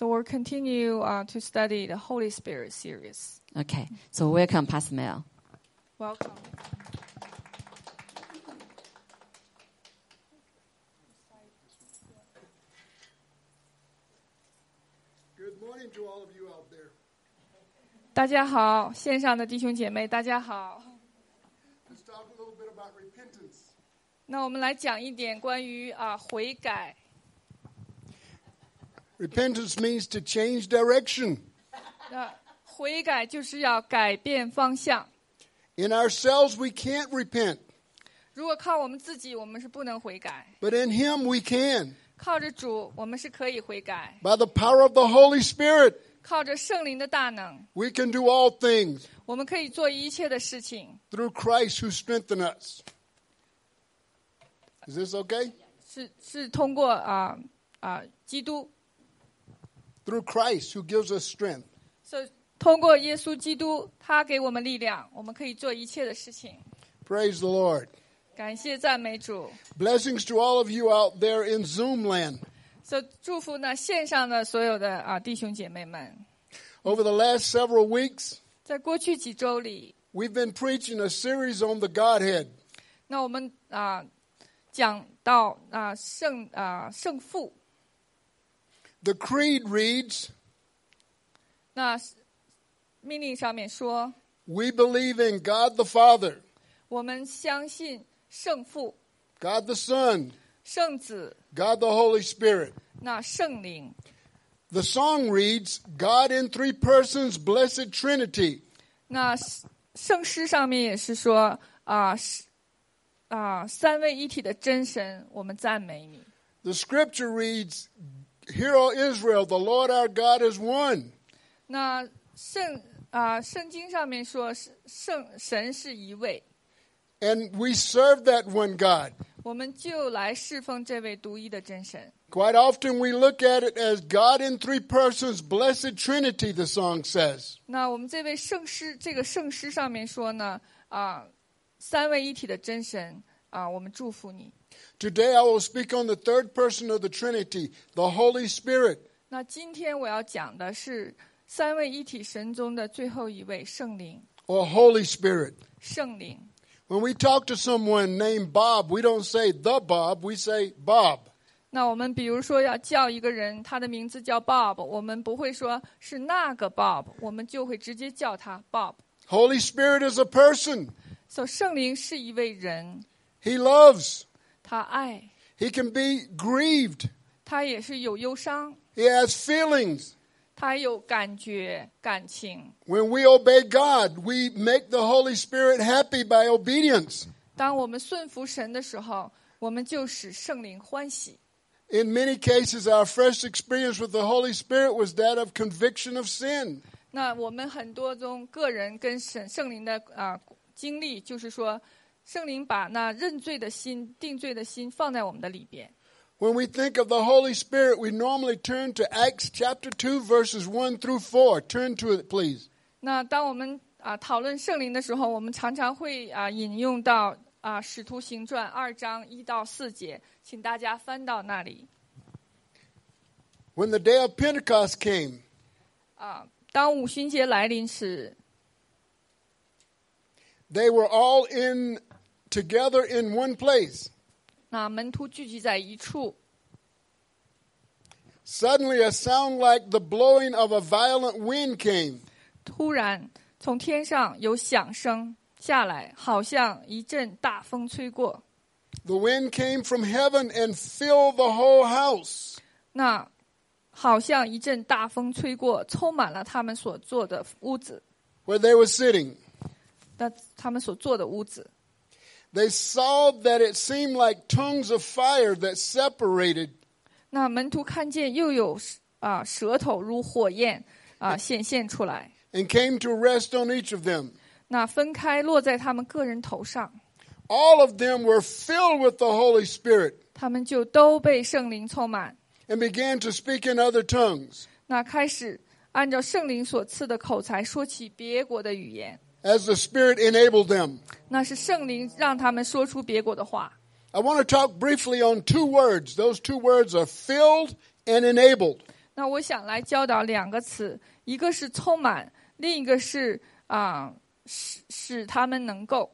So we'll continue to study the Holy Spirit series. Okay, so welcome, Pastor Mel. Welcome. Good morning to all of you out there. 大家好，线上的弟兄姐妹，大家好。 Let's talk a little bit about repentance. 那我们来讲一点关于悔改。 Repentance means to change direction. 那悔改就是要改变方向。 In ourselves, we can't repent, 如果靠我们自己，我们是不能悔改。 but in Him we can. 靠着主，我们是可以悔改。 By the power of the Holy Spirit, 靠着圣灵的大能， we can do all things 我们可以做一切的事情。 through Christ who strengthens us. Is this okay? 是通过基督， Through Christ who gives us strength. 通过耶稣基督，他给我们力量，我们可以做一切的事情。 Praise the Lord. 感谢赞美主。 Blessings to all of you out there in Zoom land. 祝福呢线上的所有的弟兄姐妹们。 Over the last several weeks, 在过去几周里， we've been preaching a series on the Godhead. 那我们讲到圣父。 The creed reads, 那命令上面说， we believe in God the Father, 我们相信圣父、 God the Son, 圣子、 God the Holy Spirit. 那圣灵。 The song reads, God in three persons, blessed Trinity. 那圣诗上面也是说三位一体的真神，我们赞美你。 The scripture reads, Hear, O Israel, the Lord our God is one. 那圣经上面说神是一位， And we serve that one God. 我们就来侍奉这位独一的真神。 Quite often we look at it as God in three persons, blessed Trinity, the song says. 那我们这个圣诗上面说呢，三位一体的真神我们祝福你。 Today I will speak on the third person of the Trinity, the Holy Spirit. 那今天我要讲的是三位一体神中的最后一位圣灵。 Or Holy Spirit. 圣灵。 When we talk to someone named Bob, we don't say the Bob, we say Bob. 那我们比如说要叫一个人，他的名字叫 Bob， 我们不会说是那个 Bob， 我们就会直接叫他 Bob。 Holy Spirit is a person. 所以圣灵是一位人， He loves. 他爱， He can be grieved. 他也是有忧伤， He has feelings. 他有感觉、感情。 When we obey God, we make the Holy Spirit happy by obedience. 当我们顺服神的时候，我们就使圣灵欢喜。 In many cases, our first experience with the Holy Spirit was that of conviction of sin. 那我们很多中个人跟圣灵的经历，就是说，圣灵把那认罪的心、定罪的心放在我们的里边。 When we think of the Holy Spirit, we normally turn to Acts chapter 2, verses 1 through 4. Turn to it, please. 那当我们讨论圣灵的时候，我们常常会引用到使徒行传2章1到4节，请大家翻到那里。 When the day of Pentecost came, 当五旬节来临时， they were all together in one place. 那门徒聚集在一处， Suddenly, a sound like the blowing of a violent wind came. 突然从天上有响声下来，好像一阵大风吹过。 The wind came from heaven and filled the whole house. 那好像一阵大风吹过，充满了他们所坐的屋子。 Where they were sitting. 他们所坐的屋子。 They saw that it seemed like tongues of fire that separated. 那门徒看见又有舌头如火焰显现出来， And came to rest on each of them. 那分开落在他们个人头上， All of them were filled with the Holy Spirit 他们就都被圣灵充满， and began to speak in other tongues 那开始按照圣灵所赐的口才说起别国的语言。 as the Spirit enabled them. 那是圣灵让他们说出别国的话。 I want to talk briefly on two words. Those two words are filled and enabled. 那我想来教导2个词，一个是充满，另一个是使他们能够。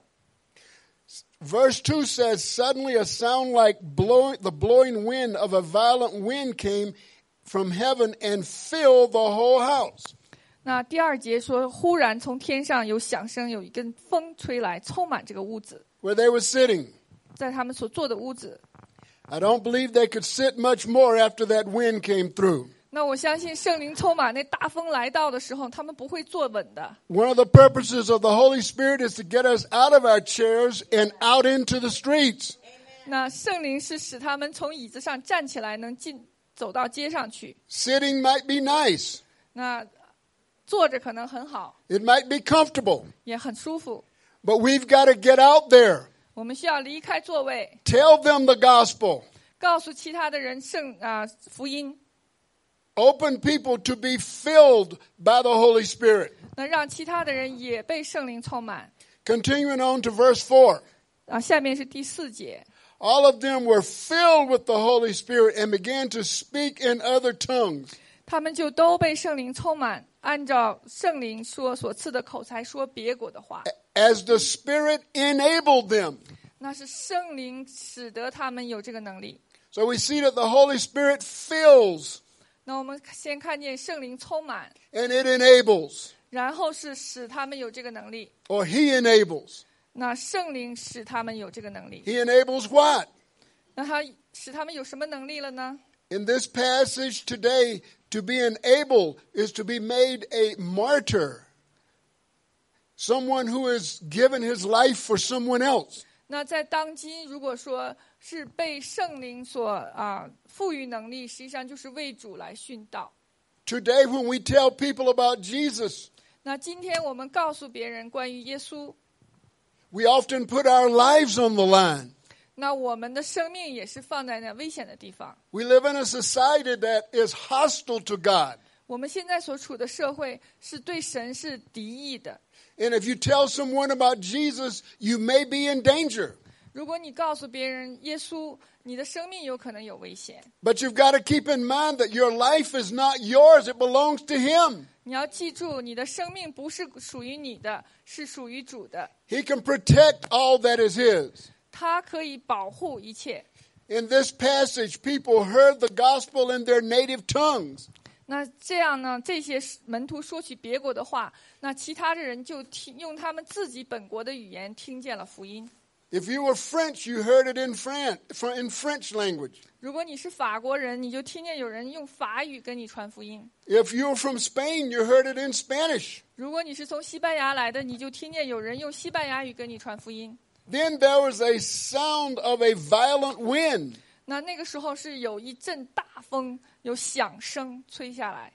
Verse 2 says, Suddenly a sound like the blowing wind of a violent wind came from heaven and filled the whole house. 那第2节说，忽然从天上有响声，有一根风吹来，充满这个屋子， Where they were sitting. 在他们所坐的屋子。 I don't believe they could sit much more after that wind came through. 那我相信圣灵充满，那大风来到的时候，他们不会坐稳的。 One of the purposes of the Holy Spirit is to get us out of our chairs and out into the streets. 那圣灵是使他们从椅子上站起来，能走到街上去。 Sitting might be nice. 那坐着可能很好， It might be comfortable. 也很舒服。 But we've got to get out there. 我们需要离开座位， Tell them the gospel. 告诉其他的人福音。 Open people to be filled by the Holy Spirit. 那让其他的人也被圣灵充满。 Continuing on to verse 4. 下面是第4节。 All of them were filled with the Holy Spirit and began to speak in other tongues. 他们就都被圣灵充满，按照圣灵所赐的口才说别国的话。 As the Spirit enabled them. 那是圣灵使得他们有这个能力。 So we see that the Holy Spirit fills 那我们先看见圣灵充满， and it enables. 然后是使他们有这个能力。 Or He enables. 那圣灵使他们有这个能力。 He enables what? 那他使他们有什么能力了呢？ In this passage today, to be enabled is to be made a martyr. Someone who has given his life for someone else. 那在当今，如果说是被圣灵所赋予能力，实际上就是为主来殉道。 Today, when we tell people about Jesus, 那今天我们告诉别人关于耶稣， we often put our lives on the line. 那我们的生命也是放在那危险的地方。 We live in a society that is hostile to God. 我们现在所处的社会是对神是敌意的。 And if you tell someone about Jesus, you may be in danger. 如果你告诉别人耶稣，你的生命有可能有危险。 But you've got to keep in mind that your life is not yours, it belongs to Him. 你要记住，你的生命不是属于你的，是属于主的。 He can protect all that is His. 他可以保护一切。 In this passage, people heard the gospel in their native tongues. 那这样呢，这些门徒说起别国的话，那其他的人就用他们自己本国的语言听见了福音。 If you were French, you heard it in French language. 如果你是法国人，你就听见有人用法语跟你传福音。 If you were from Spain, you heard it in Spanish. 如果你是从西班牙来的，你就听见有人用西班牙语跟你传福音。 Then there was a sound of a violent wind. 那个时候是有一阵大风，有响声吹下来，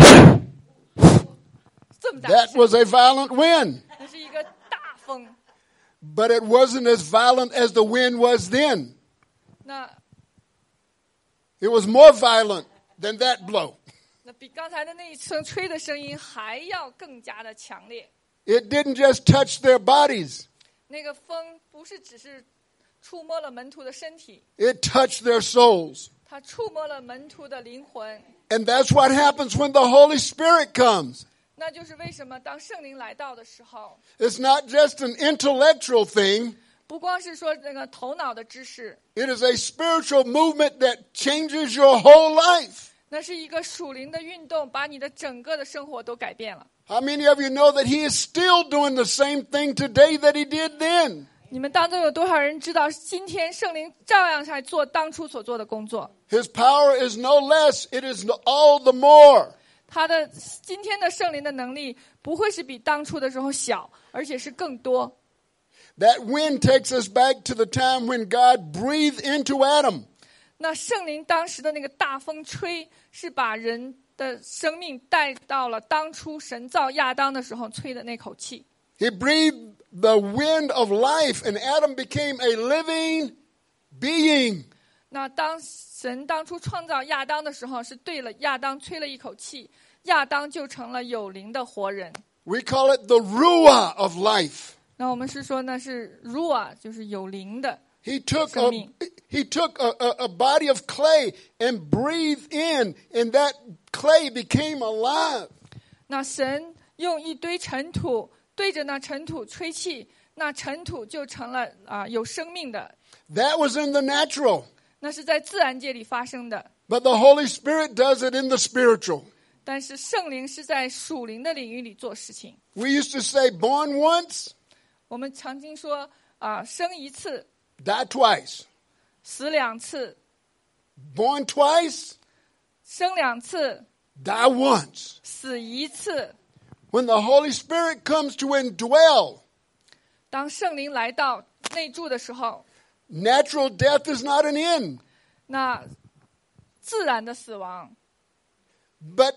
这么大的 That 响， was a violent wind. 那是一个大风。 But it wasn't as violent as the wind was then. 那 It was more violent than that blow. 比刚才的那一声吹的声音还要更加的强烈。 It didn't just touch their bodies. 那个风不是只是触摸了门徒的身体， It touched their souls. 它触摸了门徒的灵魂。 And that's what happens when the Holy Spirit comes. 那就是为什么当圣灵来到的时候， It's not just an intellectual thing. 不光是说那个头脑的知识， It is a spiritual movement that changes your whole life. 那是一个属灵的运动，把你的整个的生活都改变了。 How many of you know that He is still doing the same thing today that He did then? 你们当中有多少人知道，今天圣灵照样在做当初所做的工作？ His power is no less. It is all the more. 他的今天的圣灵的能力不会是比当初的时候小，而且是更多。 That wind takes us back to the time when God breathed into Adam. 那圣灵当时的那个大风吹，是把人的生命带到了当初神造亚当的时候吹的那口气。 He breathed the wind of life, and Adam became a living being. 那当神当初创造亚当的时候，是对了亚当吹了一口气，亚当就成了有灵的活人。 We call it the ruah of life. 那我们是说那是 ruah， 就是有灵的 He took 生命。 a body of clay and breathed in, and that clay became alive. 那神用一堆尘土对着那尘土吹气，那尘土就成了有生命的。 That was in the natural. 那是在自然界里发生的， But the Holy Spirit does it in the spiritual. 但是圣灵是在属灵的领域里做事情。 We used to say, born once, 我们曾经说生一次， die twice. 死两次， Born twice, 生两次， die once. 死一次。 When the Holy Spirit comes to indwell, 当圣灵来到内住的时候， natural death is not an end. 那自然的死亡， But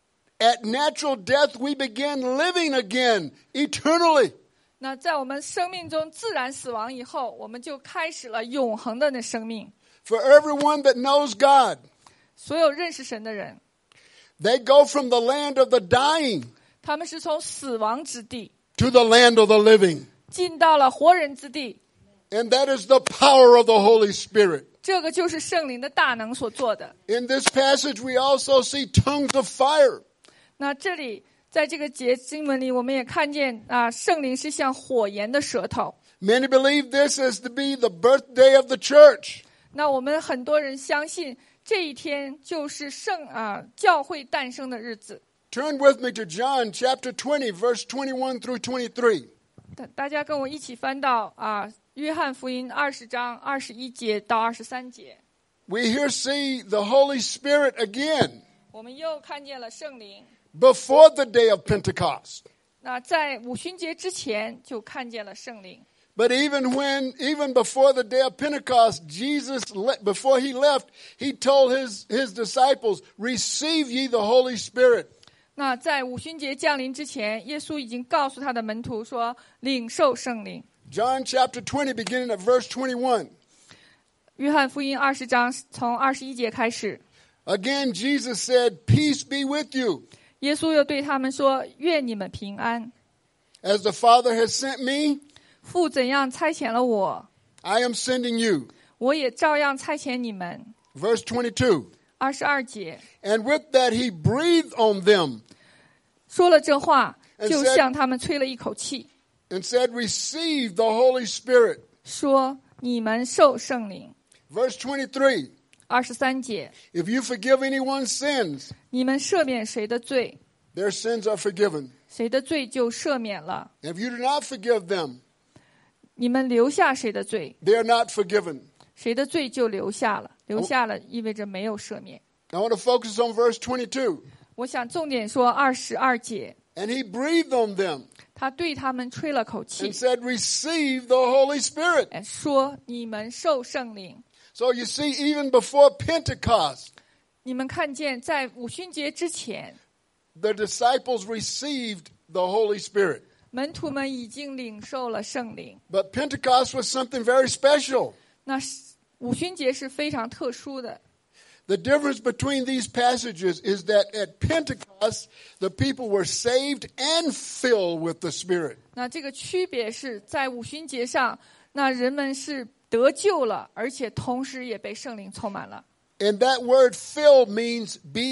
at natural death, we begin living again eternally. 那在我们生命中自然死亡以后，我们就开始了永恒的那生命。 For everyone that knows God, 所有认识神的人， they go from the land of the dying 他们是从死亡之地 to the land of the living. 进到了活人之地， And that is the power of the Holy Spirit. 这个就是圣灵的大能所做的。 In this passage, we also see tongues of fire. 那这里在这个节经文里，我们也看见圣灵是像火焰的舌头。 Many believe this is to be the birthday of the church. 那我们很多人相信这一天就是教会诞生的日子。 Turn with me to John chapter 20, verse 21 through 23. 大家跟我一起翻到约翰福音20章21节到23节。 We here see the Holy Spirit again 我们又看见了圣灵。 before the day of Pentecost. 那在五旬节之前就看见了圣灵。 But even before the day of Pentecost, Jesus, before he left, he told his disciples, receive ye the Holy Spirit. 那在五旬节降临之前，耶稣已经告诉他的门徒说，领受圣灵。 John chapter 20, beginning at verse 21. 约翰福音20章从21节开始， Again, Jesus said, peace be with you. 耶稣又对他们说，愿你们平安。 As the Father has sent me, 父怎样差遣了我， I am sending you. 我也照样差遣你们。 Verse 22. 22节 And with that he breathed on them 说了这话， And 就 said- 向他们吹了一口气， and said, receive the Holy Spirit. 说你们受圣灵。 Verse 23. 23节 If you forgive anyone's sins, 你们赦免谁的罪， their sins are forgiven. 谁的罪就赦免了； If you do not forgive them, 你们留下谁的罪， they are not forgiven. 谁的罪就留下了。留下了意味着没有赦免。 I want to focus on verse 22. 我想重点说22节， And he breathed on them 他对他们吹了口气 and，said, receive the Holy Spirit. 说你们受圣灵。 So you see, even before Pentecost, 你们看见在五旬节之前， the disciples received the Holy Spirit. 门徒们已经领受了圣灵。 But Pentecost was something very special. 那五旬节是非常特殊的。 The difference between these passages is that at Pentecost, the people were saved and filled with the Spirit. 那这个区别是在五旬节上，那人们是得救了，而且同时也被圣灵充满了。 And that word filled means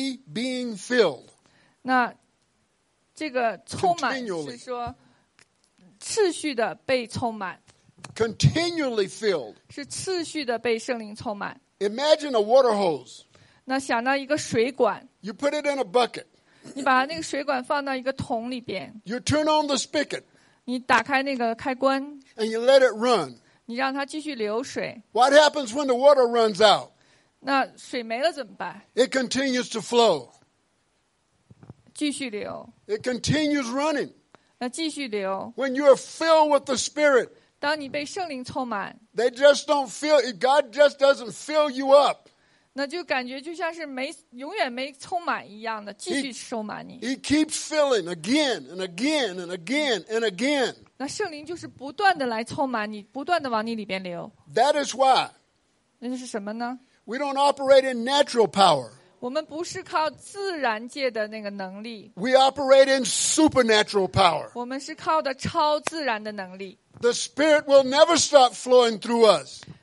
being filled. 那这个充满 Continually. 是说次序的被充满， Continually filled. 是次序的被圣灵充满。 Imagine a water hose. 那想到一个水管， You put it in a bucket. 你把那个水管放到一个桶里边， You turn on the spigot 你打开那个开关， and you let it run. 你让它继续流水。 What happens when the water runs out? 那水没了怎么办？ It continues to flow. 继续流， It continues running. 那继续流。 When you are filled with the Spirit, 当你被圣灵充满， they just don't feel it. God just doesn't fill you up. 那就感觉就像是永远没充满一样的，继续收满你。 He keeps filling again and again and again and again. 那圣灵就是不断的来充满你，不断的往你里边流。 That is why 那就是什么呢？ we don't operate in natural power. 我们不是靠自然界的那个能力， We operate in supernatural power. 我们是靠的超自然的能力。 The Spirit will never stop flowing through us.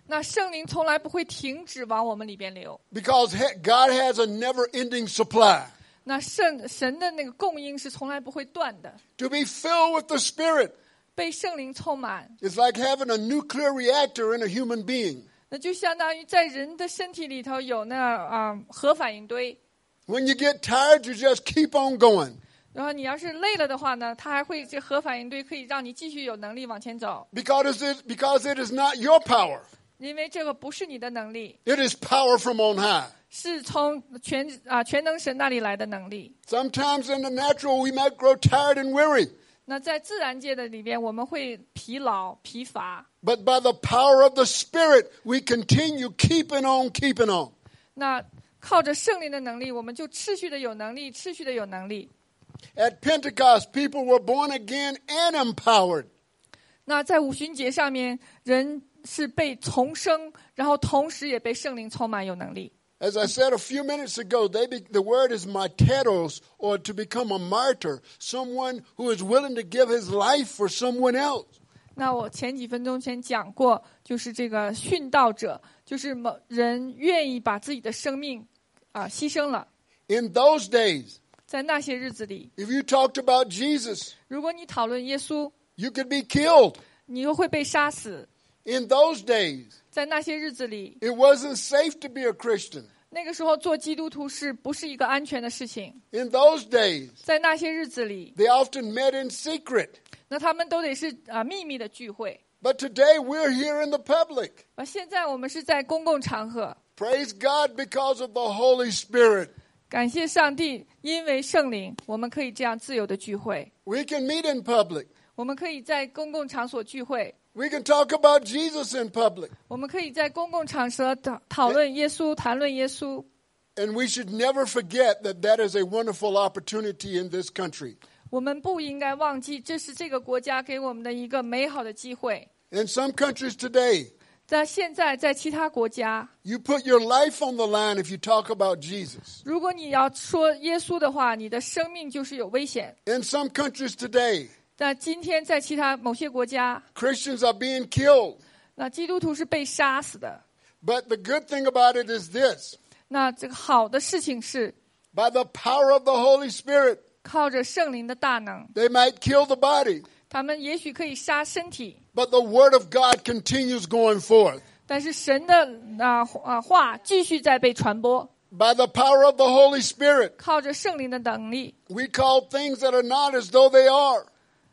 那圣灵从来不会停止往我们里边流， because God has a never-ending supply. 那神的那个供应是从来不会断的。 To be filled with the Spirit 被圣灵充满， is like having a nuclear reactor in a human being. 那就相当于在人的身体里头有那核反应堆。 When you get tired, you just keep on going. 然后你要是累了的话呢，它还会这核反应堆可以让你继续有能力往前走， Because it is not your power. 因为这个不是你的能力， It is power from on high. 是从全能神那里来的能力。 Sometimes in the natural, we might grow tired and weary. 那在自然界的里边，我们会疲劳疲乏， But by the power of the Spirit, we continue keeping on, keeping on. 那靠着圣灵的能力，我们就持续的有能力，持续的有能力。 At Pentecost, people were born again and empowered. 那在五旬节上面，人是被重生，然后同时也被圣灵充满，有能力。 As I said a few minutes ago, the word is martyros, or to become a martyr, someone who is willing to give his life for someone else. 那我前几分钟前讲过，就是这个殉道者，就是人愿意把自己的生命牺牲了。 In those days, 在那些日子里， if you talked about Jesus, 如果你讨论耶稣， you could be killed. 你又会被杀死。 In those days, 在那些日子里， it wasn't safe to be a Christian. 那个时候做基督徒是不是一个安全的事情？ In those days, 在那些日子里， they often met in secret. 那他们都得是秘密的聚会。 But today, we're here in the public. 现在我们是在公共场合， Praise God because of the Holy Spirit. 感谢上帝，因为圣灵，我们可以这样自由的聚会。 We can meet in public. 我们可以在公共场所聚会， We can talk about Jesus in public. 我们可以在公共场所讨论耶稣，谈论耶稣。 And we should never forget that is a wonderful opportunity in this country. 我们不应该忘记，这是这个国家给我们的一个美好的机会。 In some countries today, 在现在，在其他国家， you put your life on the line if you talk about Jesus. 如果你要说耶稣的话，你的生命就是有危险。 In some countries today, 那今天在其他某些国家， Christians are being killed. 那基督徒是被杀死的。 But the good thing about it is this. 那这个好的事情是， By the power of the Holy Spirit, 靠着圣灵的大能， they might kill the body, 他们也许可以杀身体， but the Word of God continues going forth. 但是神的话继续在被传播。 By the power of the Holy Spirit, 靠着圣灵的能力， we call things that are not as though they are.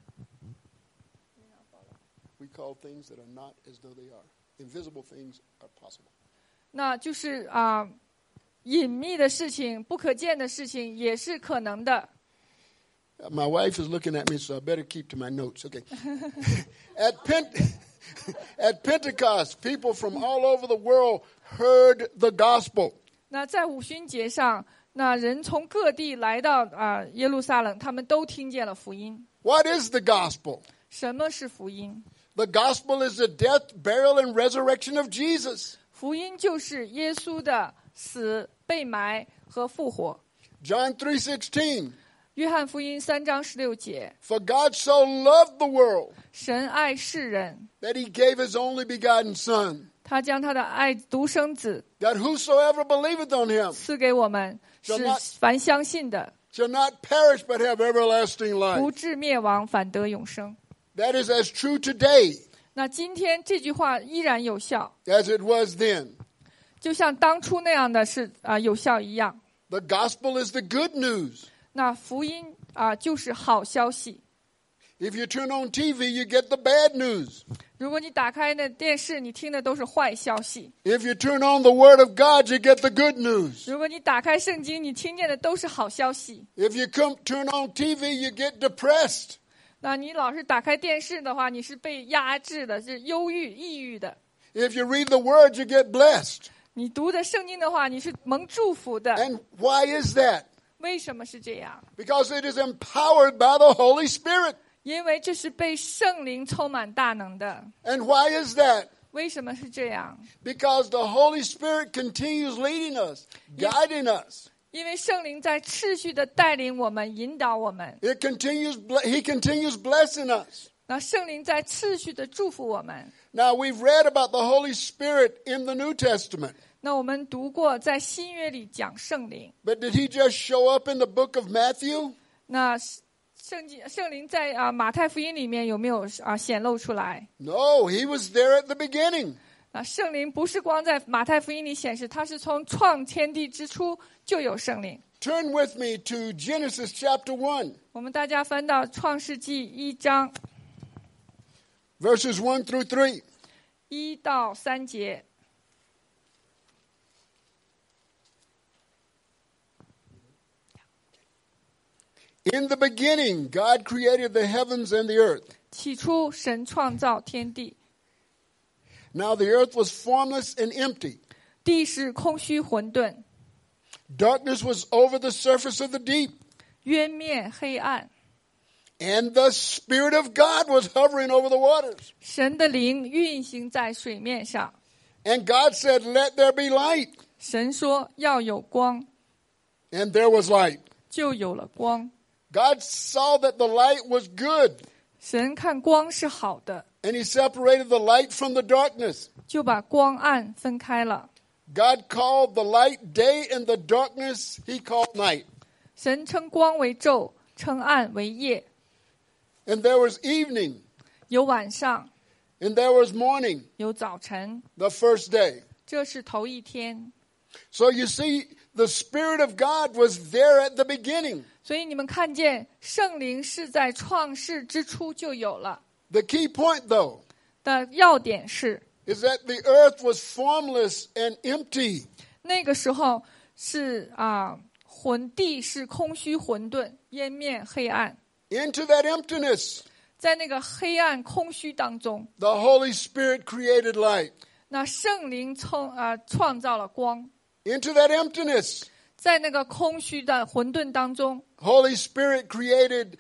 We call things that are not as though they are. Invisible things are possible. 那就是隐秘的事情、不可见的事情也是可能的。 My wife is looking at me, so I better keep to my notes. Okay. At Pentecost, people from all over the world heard the gospel. 那在五旬节上，那人从各地来到耶路撒冷，他们都听见了福音。 What is the gospel? 什么是福音？ The gospel is the death, burial, and resurrection of Jesus. 福音就是耶稣的死、被埋和复活。 John 3:16. 约翰福音3章16节， For God so loved the world 神爱世人， that he gave his only begotten Son, 他将他的爱独生子 that whosoever believeth on him 赐给我们，使凡相信的 shall not perish but have everlasting 不 life. 至灭亡，反得永生。 That is as true today 那今天这句话依然有效， as it was then. 就像当初那样的是有效一样。 The gospel is the good news. 那福音就是好消息。 If you turn on TV, you get the bad news. 如果你打开那电视，你听的都是坏消息； If you turn on the Word of God, you get the good news. 如果你打开圣经，你听见的都是好消息。 If you turn on TV, you get depressed. 那你老是打开电视的话，你是被压制的，是忧郁、抑郁的。 If you read the Word, you get blessed. 你读的圣经的话，你是蒙祝福的。 And why is that? 为什么是这样？ Because it is empowered by the Holy Spirit. 因为这是被圣灵充满大能的。 And why is that? 为什么是这样？ Because the Holy Spirit continues leading us, guiding us. 因为圣灵在持续的带领我们、引导我们。 He continues blessing us. 那圣灵在持续的祝福我们。 Now, we've read about the Holy Spirit in the New Testament, 那我们读过在新约里讲圣灵， but did he just show up in the book of Matthew? 那圣灵在马太福音里面有没有显露出来？ No, he was there at the beginning. 那圣灵不是光在马太福音里显示，它是从创天地之初就有圣灵。 Turn with me to Genesis chapter 1, 我们大家翻到创世纪1章 verses 1 through 3. 1到3节。 In the beginning, God created the heavens and the earth. 起初神创造天地， Now the earth was formless and empty. 地是空虚混沌， Darkness was over the surface of the deep. 渊面黑暗。 And the Spirit of God was hovering over the waters. 神的灵运行在水面上。 And God said, "Let there be light." 神说要有光， And there was light. 就有了光。 God saw that the light was good. 神看光是好的， And he separated the light from the darkness. 就把光暗分开了。 God called the light day and the darkness he called night. 神称光为昼，称暗为夜。 And there was evening 有晚上， and there was morning, 有早晨， the first day. 这是头一天。 So you see, the Spirit of God was there at the beginning. 所以你们看见圣灵是在创世之初就有了。 The key point, though, 的要点是， is that the earth was formless and empty. 那个时候是地是空虚混沌，烟面黑暗。 Into that emptiness, 在那个黑暗空虚当中， the Holy Spirit created light. 那圣灵创造了光。 Into that emptiness, 在那个空虚的混沌当中， Holy Spirit created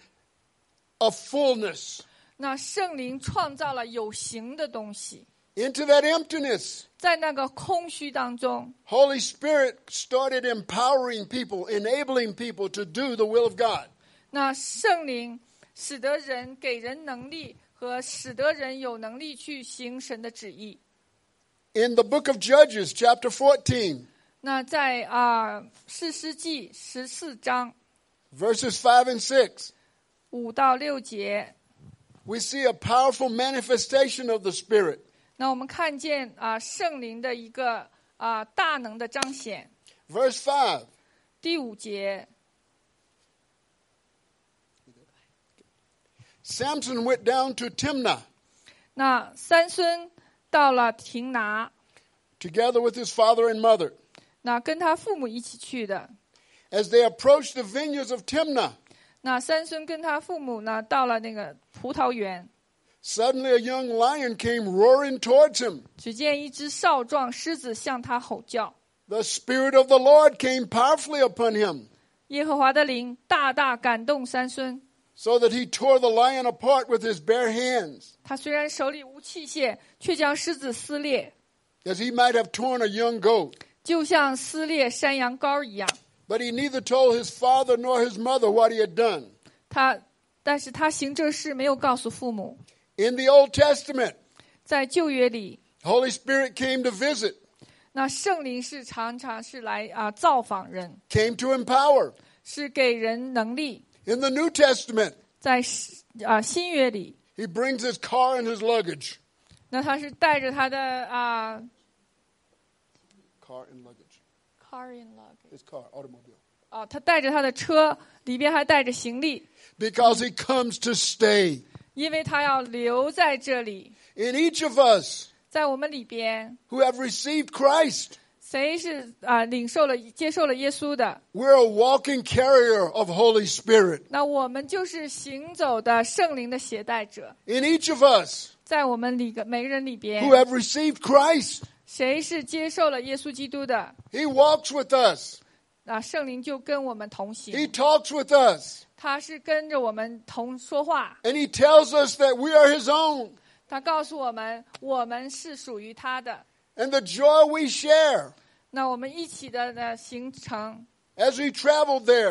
a fullness. 那圣灵创造了有形的东西。 Into that emptiness, 在那个空虚当中， Holy Spirit started empowering people, enabling people to do the will of God. 那圣灵使得人给人能力，和使得人有能力去行神的旨意。 In the book of Judges, chapter 14, 那在士师记14章 verses 5 and 6, 5到6节， we see a powerful manifestation of the Spirit. 那我们看见圣灵的一个大能的彰显。 Verse 5, 第5节， Samson went down to Timnah 那三孙到了亭拿， together with his father and mother. 那跟他父母一起去的。 As they approached the vineyards of Timnah, 那三孙跟他父母呢，到了那个葡萄园， suddenly a young lion came roaring towards him. 只见一只少壮狮子向他吼叫。 The Spirit of the Lord came powerfully upon him, 耶和华的灵大大感动三孙， so that he tore the lion apart with his bare hands, 他虽然手里无器械，却将狮子撕裂， as he might have torn a young goat. 就像撕裂山羊羔一样。 But he neither told his father nor his mother what he had done. 但是他行这事没有告诉父母。 In the Old Testament, 在旧约里， Holy Spirit came to visit, 那圣灵是常常是来造访人， came to empower. 是给人能力。 In the New Testament, 在新约里， he brings his car and his luggage. 那他是带着他的 Car and luggage. car in luggage His car, automobile. 他带着他的车，里边还带着行李， Because he comes to stay. 因为他要留在这里。 In each of us 在我们里边， who have received Christ, 谁是接受了耶稣的， we're a walking carrier of Holy Spirit. 那我们就是行走的圣灵的携带者。 In each of us 在我们每个人里边 who，have received Christ, 谁是接受了耶稣基督的， he walks with us. 圣灵就跟我们同 He 行， talks with us. 他是跟着我们同说话， And he tells us that we are his own. 他告诉我们，我们是属于他的。 And the joy we share 那我们一起的行程， as we travel there,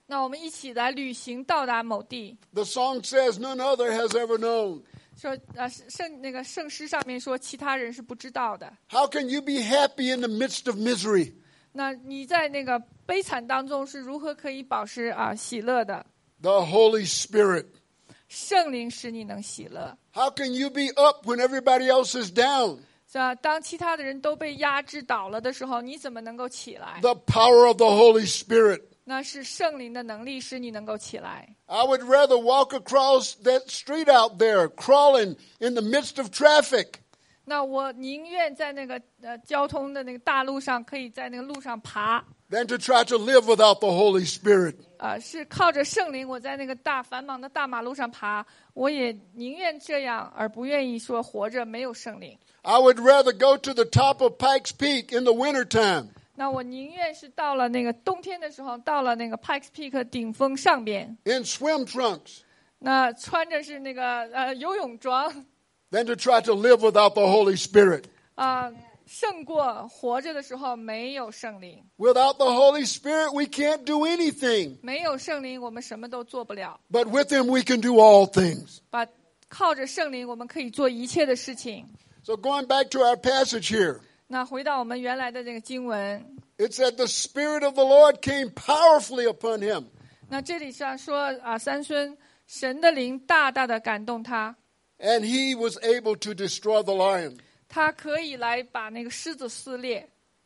那我们一起来旅行，到达某地。 The song says, none other has ever known. 说圣诗上面说，其他人是不知道的。 How can you be happy in the midst of misery? 那你在那个悲惨当中是如何可以保持喜乐的？ The Holy Spirit. 圣灵使你能喜乐。 How can you be up when everybody else is down? 是吧？当其他的人都被压制倒了的时候，你怎么能够起来？ The power of the Holy Spirit. 那是圣灵的能力使你能够起来。 I would rather walk across that street out there, crawling in the midst of traffic, 那我宁愿在那个交通的那个大路上，可以在那个路上爬， than to try to live without the Holy Spirit. 是靠着圣灵，我在那个繁忙的大马路上爬，我也宁愿这样，而不愿意说活着没有圣灵。 I would rather go to the top of Pikes Peak in the wintertime 那我宁愿是到了那个冬天的时候，到了那个 Pikes Peak 顶峰上边， in swim trunks 那穿着是那个游泳装， than to try to live without the Holy Spirit. 胜过活着的时候没有圣灵。 Without the Holy Spirit, we can't do anything. 没有圣灵，我们什么都做不了。 But with Him, we can do all things. 靠着圣灵，我们可以做一切的事情。 So going back to our passage here, 那回到我们原来的这个经文， it said the Spirit of the Lord came powerfully upon him. 那这里上说三孙神的灵大大的感动他， And he was able to destroy the lion. 他可以来把那个狮子撕裂。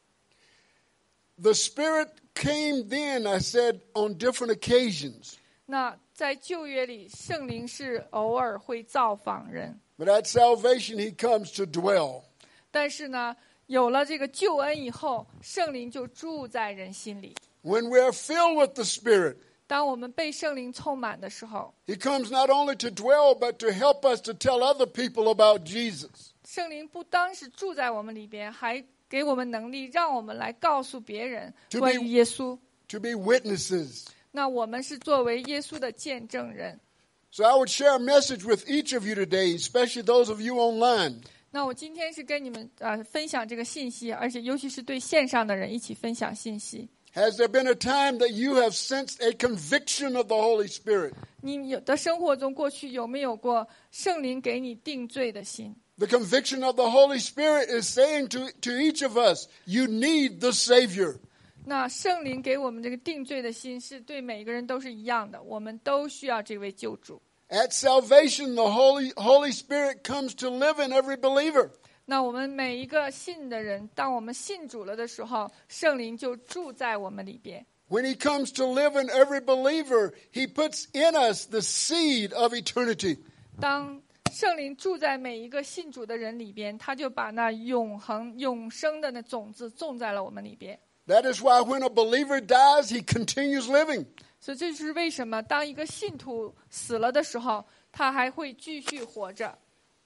The Spirit came then, I said, on different occasions. 那在旧约里，圣灵是偶尔会造访人， But at salvation, he comes to dwell. 但是呢，有了这个救恩以后，圣灵就住在人心里。 When we are filled with the Spirit, 当我们被圣灵充满的时候， he comes not only to dwell, but to help us to tell other people about Jesus. 圣灵不单是住在我们里边，还给我们能力，让我们来告诉别人 To be- 关于耶稣。 To be witnesses. 那我们是作为耶稣的见证人。 So I would share a message with each of you today, especially those of you online. 那我今天是跟你们分享这个信息，而且尤其是对线上的人一起分享信息。 Has there been a time that you have sensed a conviction of the Holy Spirit? 你有的生活中过去有没有过圣灵给你定罪的心？ The conviction of the Holy Spirit is saying to each of us, you need the Savior. 那圣灵给我们这个定罪的心，是对每个人都是一样的，我们都需要这位救主。 At salvation, the Holy Spirit comes to live in every believer. 那我们每一个信的人，当我们信主了的时候，圣灵就住在我们里边。 When he comes to live in every believer, he puts in us the seed of eternity. 当圣灵住在每一个信主的人里边，他就把那永生的那种子种在了我们里边。 That is why when a believer dies, he continues living. 所以这就是为什么当一个信徒死了的时候，他还会继续活着。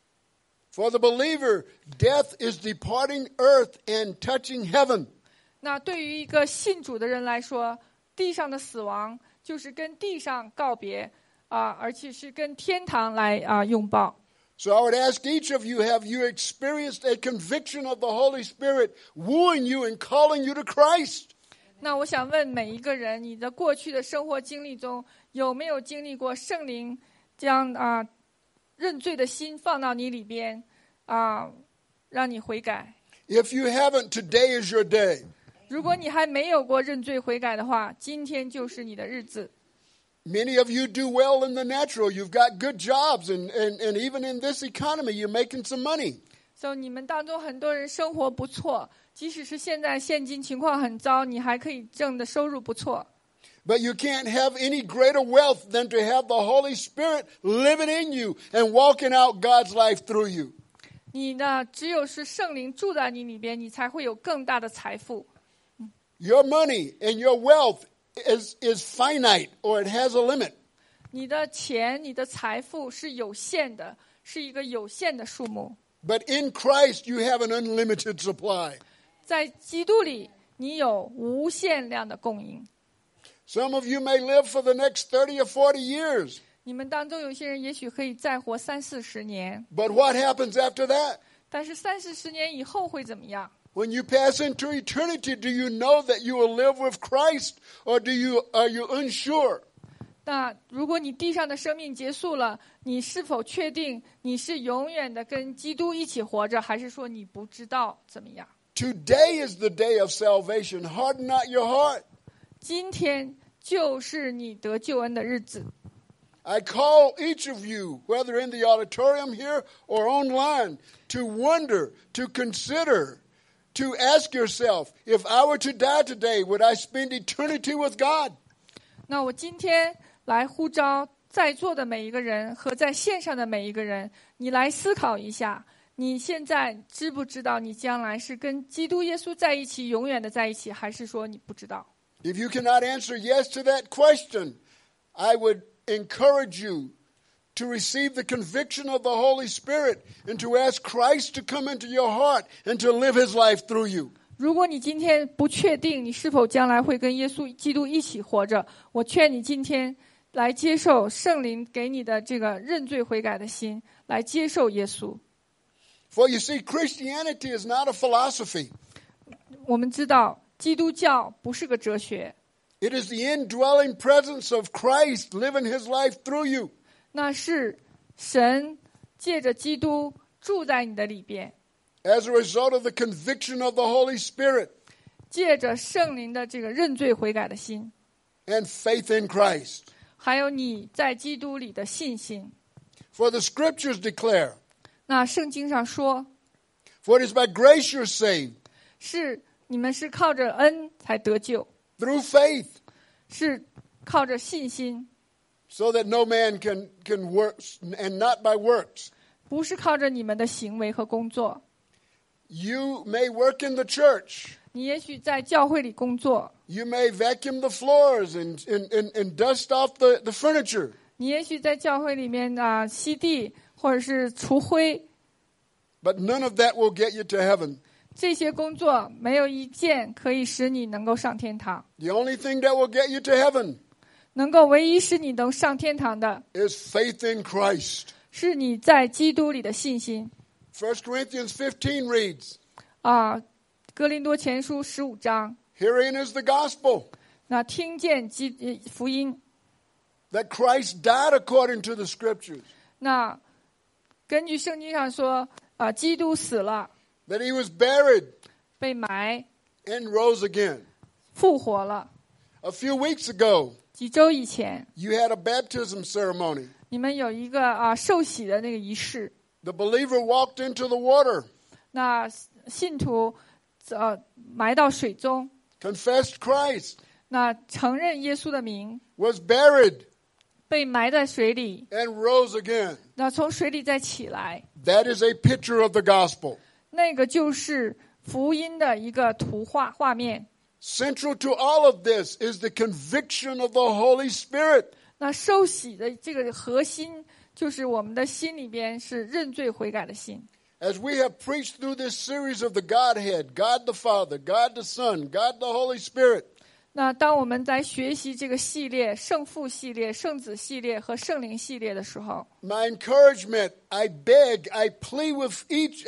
For the believer, death is departing earth and touching heaven. 那对于一个信主的人来说，地上的死亡就是跟地上告别而且是跟天堂来拥抱。 So I would ask each of you, have you experienced a conviction of the Holy Spirit wooing you and calling you to Christ? 那我想问每一个人，你的过去的生活经历中，有没有经历过圣灵将认罪的心放到你里边让你悔改？ If you haven't, today is your day. 如果你还没有过认罪悔改的话，今天就是你的日子。 Many of you do well in the natural. You've got good jobs, and even in this economy, you're making some money. 所以你们当中很多人生活不错，即使是现在现金情况很糟，你还可以挣的收入不错。 But you can't have any greater wealth than to have the Holy Spirit living in you and walking out God's life through you. 你呢，只有是圣灵住在你里边，你才会有更大的财富。 Your money and your wealth is finite, or it has a limit. 你的钱、你的财富是有限的，是一个有限的数目。 But in Christ, you have an unlimited supply. 在基督里，你有无限量的供应。 Some of you may live for the next 30 or 40 years. 你们当中有些人也许可以再活30-40年， But what happens after that? 但是30-40年以后会怎么样？ When you pass into eternity, do you know that you will live with Christ, or are you unsure? 那如果你地上的生命结束了，你是否确定你是永远的跟基督一起活着，还是说你不知道怎么样？ Today is the day of salvation. Harden not your heart. 今天就是你得救恩的日子。 I call each of you, whether in the auditorium here or online, to wonder, to consider, to ask yourself, if I were to die today, would I spend eternity with God? 那我今天来呼召在座的每一个人和在线上的每一个人，你来思考一下，你现在知不知道你将来是跟基督耶稣在一起，永远的在一起，还是说你不知道？ If you cannot answer yes to that question, I would encourage you to receive the conviction of the Holy Spirit and to ask Christ to come into your heart and to live his life through you. 如果你今天不确定你是否将来会跟耶稣基督一起活着，我劝你今天来接受圣灵给你的这个认罪悔改的心，来接受耶稣。 For you see, Christianity is not a philosophy. 我们知道基督教不是个哲学， It is the indwelling presence of Christ living his life through you. 那是神借着基督住在你的里边， As a result of the conviction of the Holy Spirit 借着圣灵的这个认罪悔改的心， and faith in Christ. 还有你在基督里的信心。 For the scriptures declare, 那圣经上说， for it is by grace you're saved, 是你们是靠着恩才得救， through faith, 是靠着信心， so that no man can work, and not by works. 不是靠着你们的行为和工作。 You may work in the church. 你也许在教会里工作， You may vacuum the floors and dust off the furniture. 你也许在教会里面吸地或者是除灰， But none of that will get you to heaven. 这些工作没有一件可以使你能够上天堂。 The only thing that will get you to heaven 能够唯一使你能上天堂的， is faith in Christ. 是你在基督里的信心。 1 Corinthians 15 reads, 哥林多前书15章， herein is the gospel, 那听见福音， that Christ died according to the scriptures, 那根据圣经上说，基督死了， that he was buried 被埋， and rose again. 复活了。 A few weeks ago, 几周以前， you had a baptism ceremony. 你们有一个受洗的那个仪式， The believer walked into the water, 那信徒埋到水中， confessed Christ, 那承认耶稣的名， was buried, 被埋在水里， and rose again. 那从水里再起来， That is a picture of the gospel. 那个就是福音的一个画面。 Central to all of this is the conviction of the Holy Spirit. 那受洗的这个核心，就是我们的心里边是认罪悔改的心。 As we have preached through this series of the Godhead, God the Father, God the Son, God the Holy Spirit, 那当我们在学习这个系列圣父系列、圣子系列和圣灵系列的时候， my encouragement, I beg, I plead with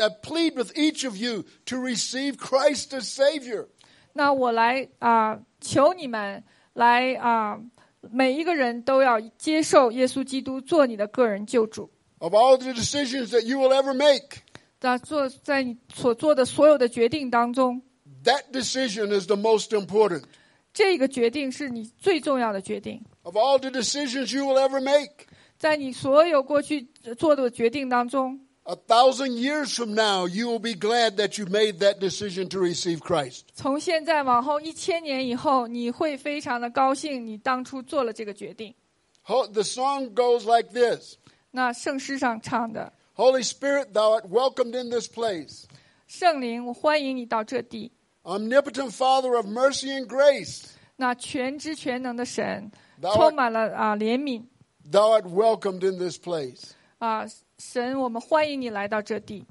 each of you to receive Christ as Savior. 那我来求你们来每一个人都要接受耶稣基督做你的个人救主。 Of all the decisions that you will ever make, 在你所做的所有的决定当中， that decision is the most important. 这个决定是你最重要的决定。 Of all the decisions you will ever make, 在你所有过去做的决定当中， 1,000 years from now, you will be glad that you made that decision to receive Christ. 从现在往后1000年以后，你会非常的高兴，你当初做了这个决定。 The song goes like this. 那圣诗上唱的 Holy Spirit, thou art welcomed in this place. 圣灵，我欢迎你到这地。 Omnipotent Father of mercy and grace, 那全知全能的神， Thou art- 充满了怜悯 thou art welcomed in this place. 神，我们欢迎你来到这地。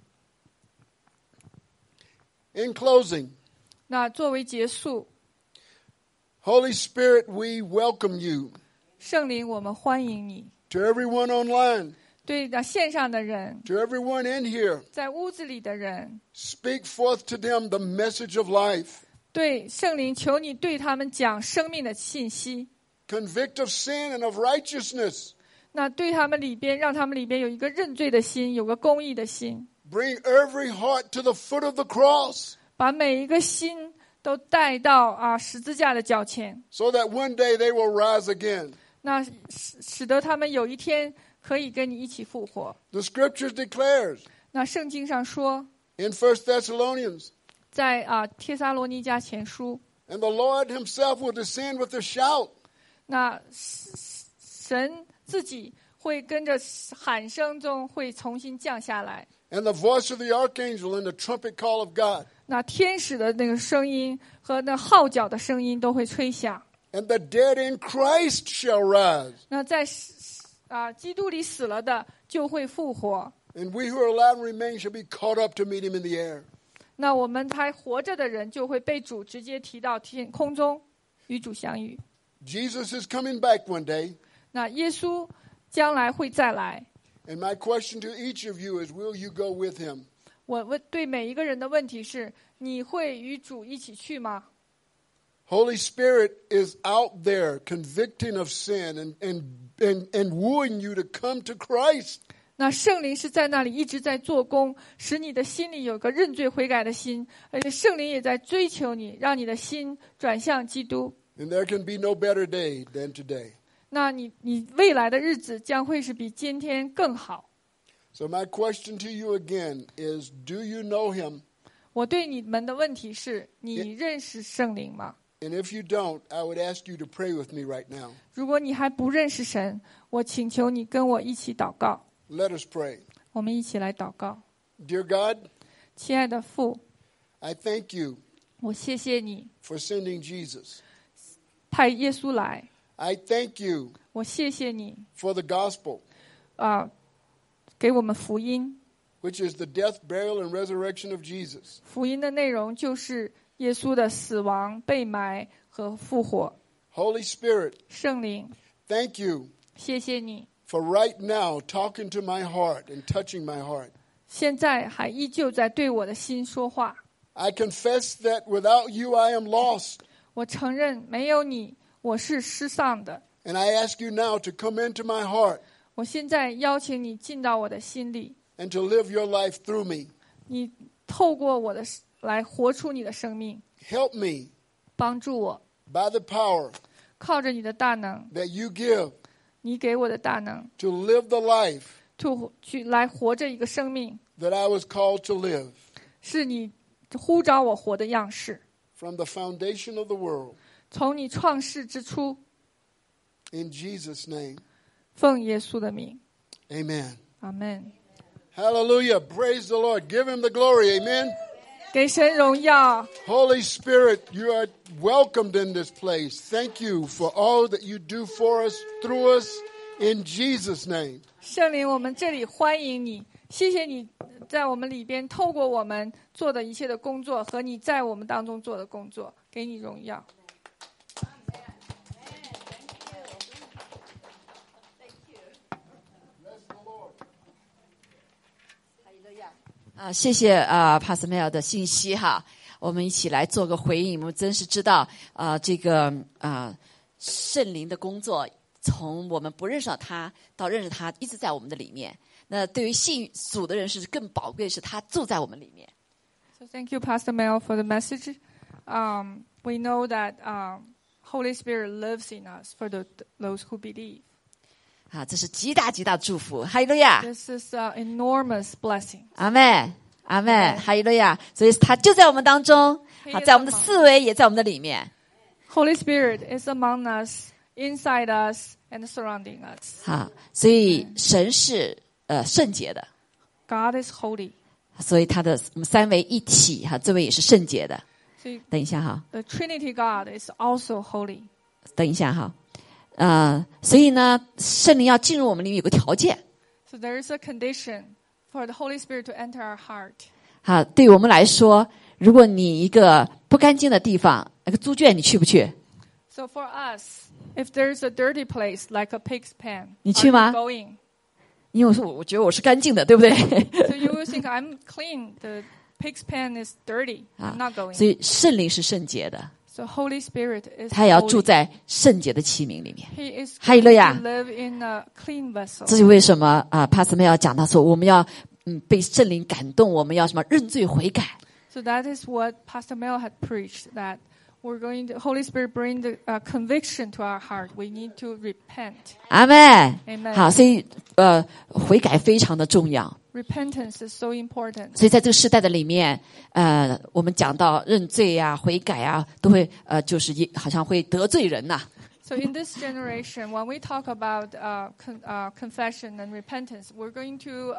In closing, 那作为结束， Holy Spirit, we welcome you. 圣灵，我们欢迎你。 To everyone online, 对线上的人， to everyone in here, 在屋子里的人， speak forth to them the message of life. 对圣灵，求你对他们讲生命的信息。 Convict of sin and of righteousness. 那对他们里边，让他们里边有一个认罪的心，有个公义的心， Bring every heart to the foot of the cross, 把每一个心都带到十字架的脚前， so that one day they will rise again. 那使得他们有一天可以跟你一起复活。 The scriptures declares 那圣经上说， in 1 Thessalonians, 在帖撒罗尼迦前书， and the Lord himself will descend with a shout, 那神自己会跟着喊声中会重新降下来。 and the voice of the archangel and the trumpet call of God, 那天使的那个声音和那号角的声音都会吹响。 and the dead in Christ shall rise, 那在基督里死了的就会复活。 and we who are alive and remain shall be caught up to meet him in the air. 那我们还活着的人就会被主直接提到天空中，与主相遇。 Jesus is coming back one day, 那耶稣将来会再来。 and my question to each of you is, will you go with him? 我问对每一个人的问题是：你会与主一起去吗？ Holy Spirit is out there convicting of sin and wooing you to come to Christ. 那圣灵是在那里一直在做工，使你的心里有个认罪悔改的心，而且圣灵也在追求你，让你的心转向基督。 And there can be no better day than today. 那你未来的日子将会是比今天更好。 So my question to you again is, do you know him? 我对你们的问题是：你认识圣灵吗？ And if you don't, I would ask you to pray with me right now. 如果你还不认识神，我请求你跟我一起祷告。 Let us pray. 我们一起来祷告。 Dear God, 亲爱的父， I thank you 我谢谢你 for sending Jesus. 派耶稣来， I thank you 我谢谢你 for the gospel, 给我们福音。 which is the death, burial, and resurrection of Jesus. 福音的内容就是耶稣的死亡、被埋和复活。 Holy Spirit, 圣灵， thank you 谢谢你， for right now talking to my heart and touching my heart. 现在还依旧在对我的心说话。 I confess that without you I am lost, 我承认没有你，我是失丧的。 and I ask you now to come into my heart 我现在邀请你进到我的心里， and to live your life through me. 你透过我的来活出你的生命， Help me 帮助我， by the power 靠着你的大能， that you give 你给我的大能， to live the life 去来活着一个生命， that I was called to live 是你呼召我活的样式。 from the foundation of the world. 从你创世之初， In Jesus' name, 奉耶稣的名， amen. 阿门。 Hallelujah. Praise the Lord. Give him the glory. Amen. 给神荣耀。 Holy Spirit, you are welcomed in this place. Thank you for all that you do for us, through us, in Jesus' name. 圣灵，我们这里欢迎你，谢谢你在我们里边透过我们做的一切的工作和你在我们当中做的工作，给你荣耀。 谢谢Pastor Mel 的信息哈，我们一起来做个回应。我们真是知道这个圣灵的工作，从我们不认识他到认识他，一直在我们的里面。那对于信主的人是更宝贵，是他住在我们里面。 So thank you, Pastor Mel, for the message. We know that Holy Spirit lives in us for those who believe. 这是极大极大祝福，哈利路亚！ This is an enormous blessing. 阿们，阿们，哈利路亚！所以他就在我们当中，在我们的思维也在我们的里面。 Holy Spirit is among us, inside us, and surrounding us. 所以神是圣洁的 God is holy. 所以他的我们三位一体这位也是圣洁的。 所以等一下哈， The Trinity God is also holy. 等一下哈，所以呢，圣灵要进入我们里面有个条件。 So there is a condition for the Holy Spirit to enter our heart. 对于我们来说，如果你一个不干净的地方，那个猪圈你去不去？ So for us, if there is a dirty place like a pig's pen, 你去吗？ are you going? 因为我觉得我是干净的，对不对？ So you will think I'm clean. The pig's pen is dirty. I'm not going. 所以圣灵是圣洁的， So Holy Spirit is 他也要住 holy. 在圣洁的器皿里面。 He is 哈利 going 路亚。 to live in a clean 这 vessel. 是为什么Pastor Mel 讲到说，我们要被圣灵感动，我们要什么认罪悔改。 So that is what Pastor Mel had preached, that we're going to, Holy Spirit bring the conviction to our heart. We need to repent. 阿们。 Amen. 好，所以悔改非常的重要。 Repentance is so important. 所以在这个时代的里面，我们讲到认罪啊、悔改啊，都会就是好像会得罪人呐、 So in this generation, when we talk about confession and repentance, we're going to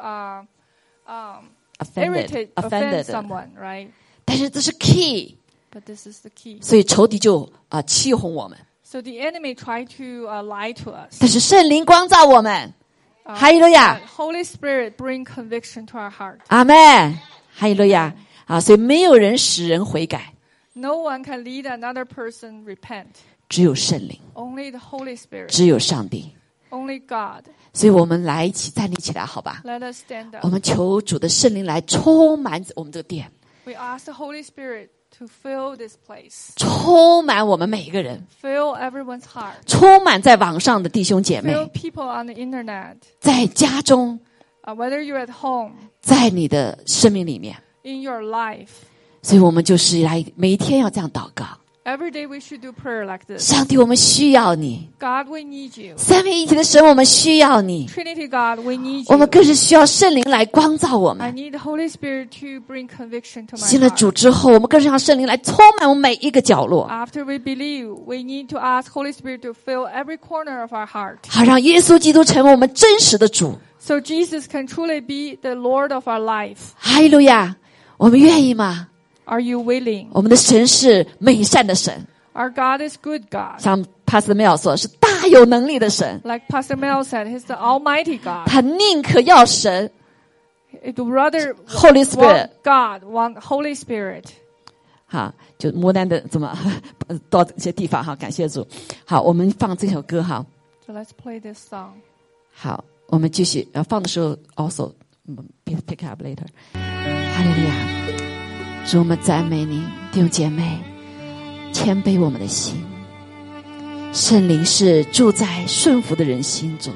offended offend someone, right? 但是这是 key， But this is the key. 所以仇敌就欺哄我们。 So the enemy tried to lie to us. 但是圣灵光照我们，哈利路亚， Holy Spirit bring conviction to our heart. 阿们，哈利路亚啊！所以没有人使人悔改， No one can lead another person repent. 只有圣灵， Only the Holy Spirit. 只有上帝。 Only God. 所以我们来一起站立起来，好吧？ Let us stand 我 up. 们求主的圣灵来充满我们这个殿， We ask the Holy Spirit to fill this place. 充满我们每一个人， Fill everyone's heart. 充满在网上的弟兄姐妹， Fill people on the internet. 在家中， Whether you're at home, 在你的生命里面。 in your life. 所以我们就是来每一天要这样祷告。 Every day we should do prayer like this. 上帝，我们需要你。 God, we need you. 三位一体的神，我们需要你。 Trinity God, we need 我们 you. 更是需要圣灵来光照我 I 们。 need the Holy Spirit to bring conviction to my 信了主 heart. 之后，我们更是让圣灵来充满我们每一个角落， After we believe, we need to ask Holy Spirit to fill every corner of our heart. 好让耶稣基督成为我们真实的主。 So Jesus can truly be the Lord of our life. 哈利路亚！我们愿意吗？ Are you willing? 我们的神是美善的神， Our God is good God. 像 Pastor Mel 说，是大有能力的神。 Like Pastor Mel said, He's the Almighty God. 他宁可要神 He'd rather Holy Spirit。 want God, want Holy Spirit. 好，就摩丹的怎么到这些地方哈，感谢主。好，我们放这首歌哈。 So let's play this song. 好，我们继续放的时候 also pick up later。哈利路亚，主我们赞美你，弟兄姐妹，谦卑我们的心。圣灵是住在顺服的人心中。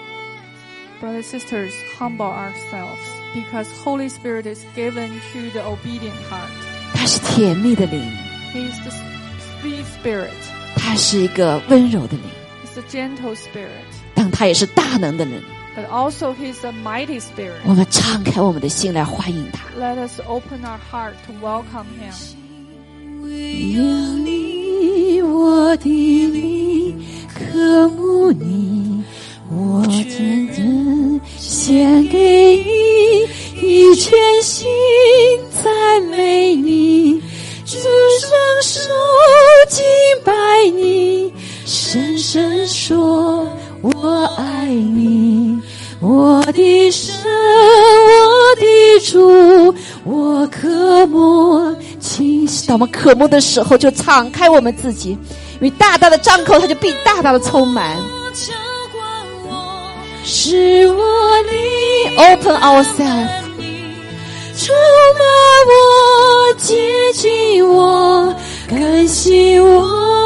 Brothers and sisters, humble ourselves because Holy Spirit is given to the obedient heart. 他是甜蜜的灵， He is the sweet spirit. 他是一个温柔的灵， He's the gentle spirit. 但他也是大能的灵。 But also He's a mighty spirit. 我们敞开我们的心来欢迎他。 Let us open our heart to welcome Him. 有你，我的灵渴慕你，我真正献给你，一全心赞美你，主双手敬拜你，深深说我爱你，我的神，我的主，我渴慕清晰。当我们渴慕的时候，就敞开我们自己，因为大大的张口，它就必大大的充满。使我灵 open ourselves， 充满我，接近我，更新我，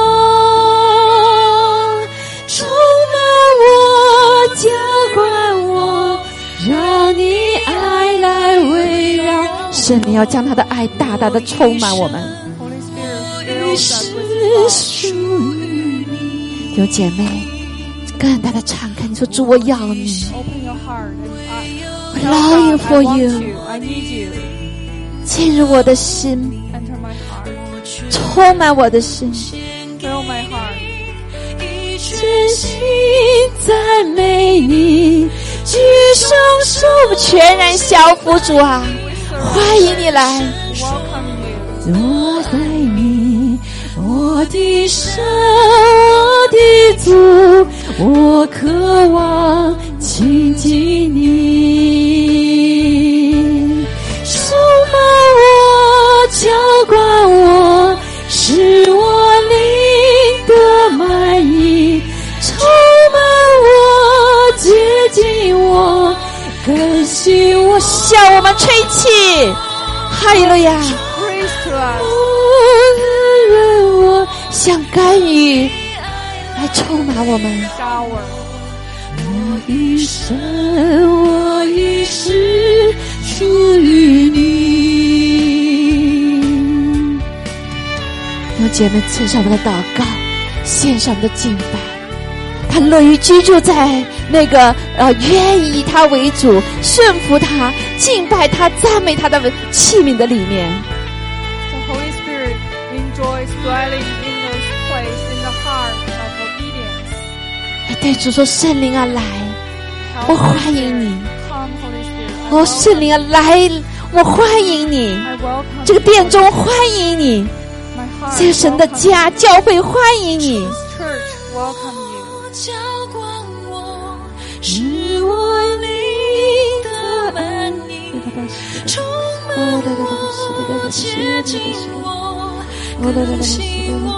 充满我，浇灌我，让你爱来围绕。神，你要将他的爱大大的充满我们。 Holy Spirit fills us with 是属于你，弟兄姐妹，更大的敞开，你说主，我要你。 Open your heart and I love you God, for I want you. you. I need you. 进入我的心， Enter my heart. 充满我的心， Fill my heart. 真心赞美你，举双手，全然降服主啊！欢迎你来， Welcome you. 我爱你，我的神，我的主，我渴望亲近你，充满我，浇灌我，使我灵得满溢，充满我，接近我， 向我们吹气，哈利路亚！ Praise to us. 我像甘雨来充满我们。 Shower. 我一生，我一世属于你。弟兄姐妹，献上我们的祷告，献上我们的敬拜。他乐于居住在那个愿意以他为主、顺服他、敬拜他、赞美他的器皿的里面。 The Holy Spirit enjoys dwelling in this place in the heart of obedience. 对主说：“圣灵啊，来，我欢迎你。 Come, Holy Spirit. 哦，圣灵啊，来，我欢迎你。 I welcome 这个殿中欢迎你， my heart. 这个神的家、教会欢迎你。 Church, welcome you. 浇灌我，使我灵的满溢，充满我，接近我，更新我，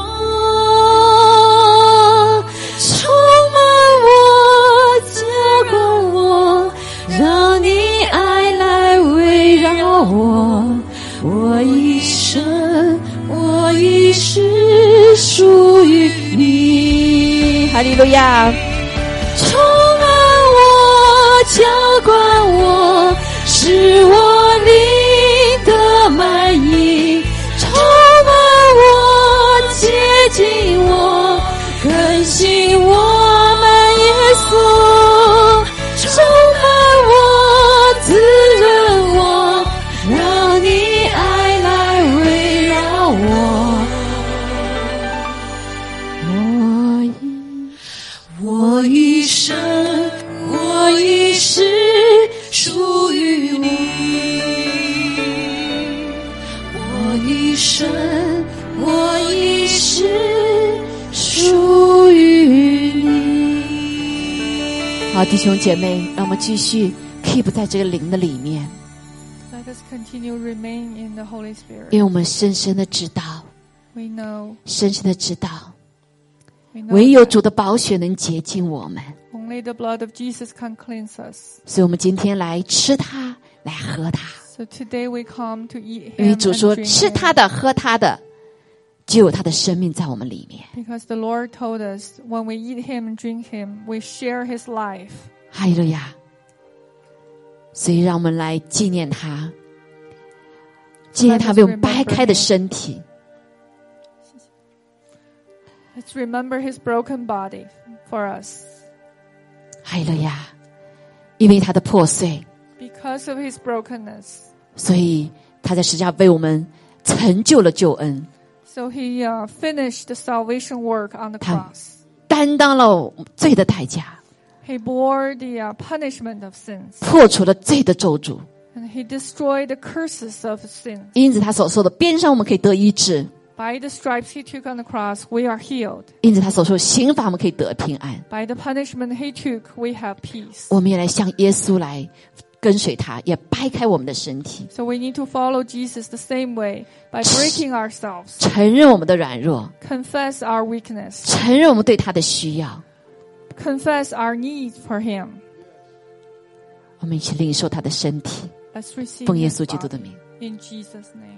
充满我，浇灌我，让你爱来围绕我，我一生，我一世属于你。 哈利路亚！ 充满我，浇灌我，使我灵的满溢，充满我，接近我，更新我们耶稣，充满我，滋润我，让你爱来围绕我。我一生，我一世属于你。我一生，我一世属于你。 好，弟兄姐妹，让我们继续 keep 在这个灵的里面， Let us continue remain in the Holy Spirit. 因为我们深深的知道， We know, 深深的知道， we know 唯有 that 主的宝血能洁净我们。 only the blood of Jesus can cleanse us. 所以我们今天来吃它，来喝它。 So today we come to eat 因为 Him 主 and 说， drink 吃 Him. 它的、喝它的，就有他的生命在我们里面。 Because the Lord told us, when we eat Him and drink Him, we share His life. 哈利路亚！所以让我们来纪念他，纪念他为我们掰开的身体。 Let's remember His broken body for us. 哈利路亚！因为他的破碎， Because of His brokenness. 所以他在十字架为我们成就了救恩， So He finished the salvation work on the cross. 担当了罪的代价， He bore the punishment of sins. 破除了罪的咒诅。 And He destroyed the curses of sin. 因此他所说的鞭伤我们可以得医治， By the stripes He took on the cross, we are healed. 因此他所说刑罚我们可以得平安。 By the punishment He took, we have peace. 我们也来向耶稣来跟随他，也掰开我们的身体， So we need to follow Jesus the same way by breaking ourselves, 承认我们的软弱， confess our weakness, 承认我们对他的需要。 confess our need for Him. 我们一起领受他的身体， Let's receive 奉耶 His 稣基督的 body 名。 in Jesus' name.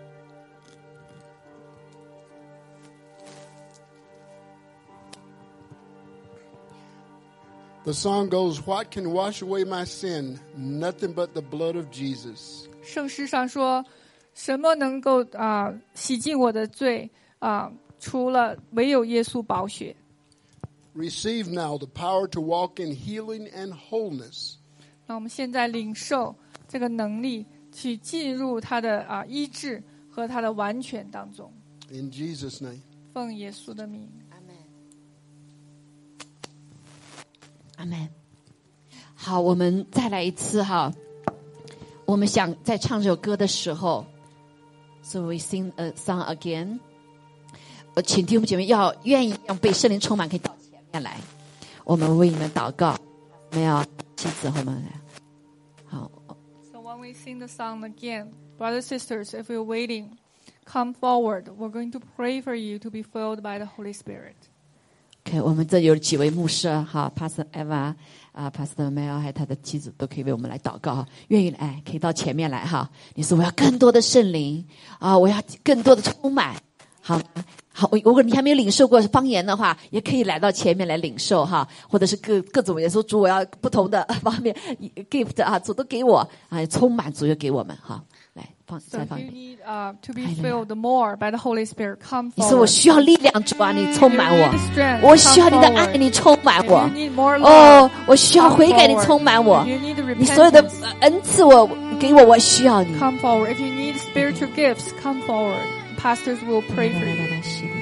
The song goes, "What can wash away my sin? Nothing but the blood of Jesus." 圣诗上说，什么能够洗净我的罪除了唯有耶稣宝血。 Receive now the power to walk in healing and wholeness. 那我们现在领受这个能力，去进入他的医治和他的完全当中。 In Jesus' name. 奉耶稣的名。 阿门。好，我们再来一次哈。我们想在唱这首歌的时候 ，So we sing a song again。请弟兄姐妹要愿意被圣灵充满，可以到前面来，我们为你们祷告。没有妻子后面来。好。 So when we sing the song again, brothers and sisters, if you're waiting, come forward. We're going to pray for you to be filled by the Holy Spirit. OK， OK， 我们这有几位牧师哈 ，Pastor Eva Pastor Mel 还有他的妻子都可以为我们来祷告，愿意来可以到前面来哈。你说我要更多的圣灵我要更多的充满，好吗？好，如果你还没有领受过方言的话，也可以来到前面来领受哈，或者是各种也说主我要不同的方面 gift 主都给我充满主就给我们哈，来再放一遍。 To be filled more by the Holy Spirit, come forward. 你说我需要力量，主啊，你充满我，我需要你的爱，你充满我。我需要悔改，你充满我。你所有的恩赐我给我，我需要你。 Come forward. If you need spiritual gifts, come forward. Pastors will pray for you.